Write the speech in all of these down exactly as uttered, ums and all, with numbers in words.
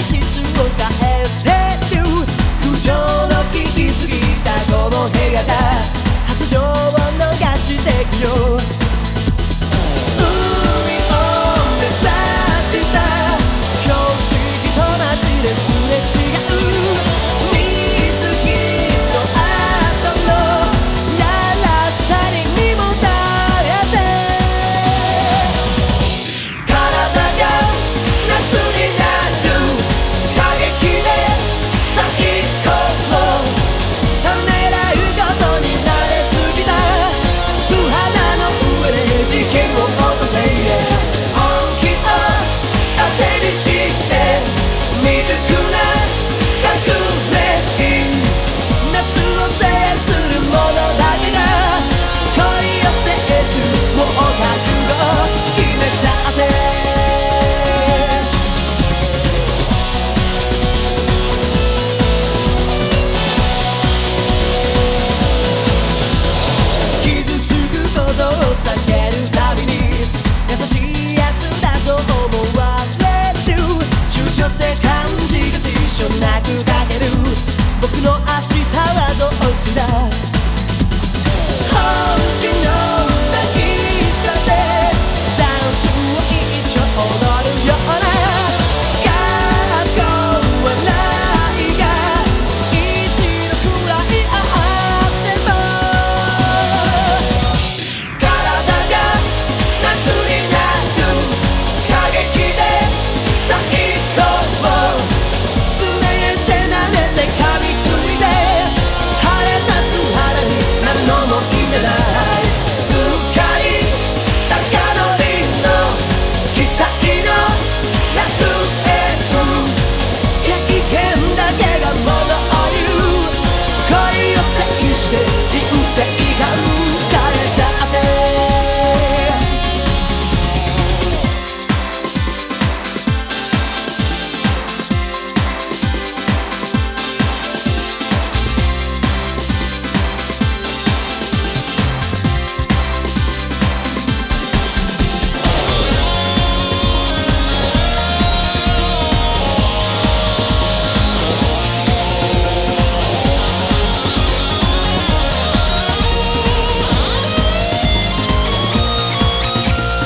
質を変えてる空調の効きすぎたこの部屋じゃ発情を逃してくよ海を目指した標識と街ですれ違う水着の後のやらさに身もだえて体が夏になる過激で最高ためらうことに慣れすぎた素肌の上で事件を起こせ本気を盾にして未熟な革命夏を制する者だけが恋を制すもう覚悟決めちゃって傷つくことを避けるたびに優しいやつだと思われる躊躇って感じが辞書なく書ける僕の明日はどっちだ星の渚でダンスを一応踊るような学校はないが一度くらいあっても体が夏になる過激で最高つねって舐めて噛みついて晴れた素肌になるのも夢だいうっかり高乗りの期待の楽園経験だけがものを言う恋を制して人生が変えちゃって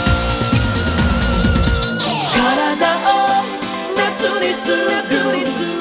体を夏にする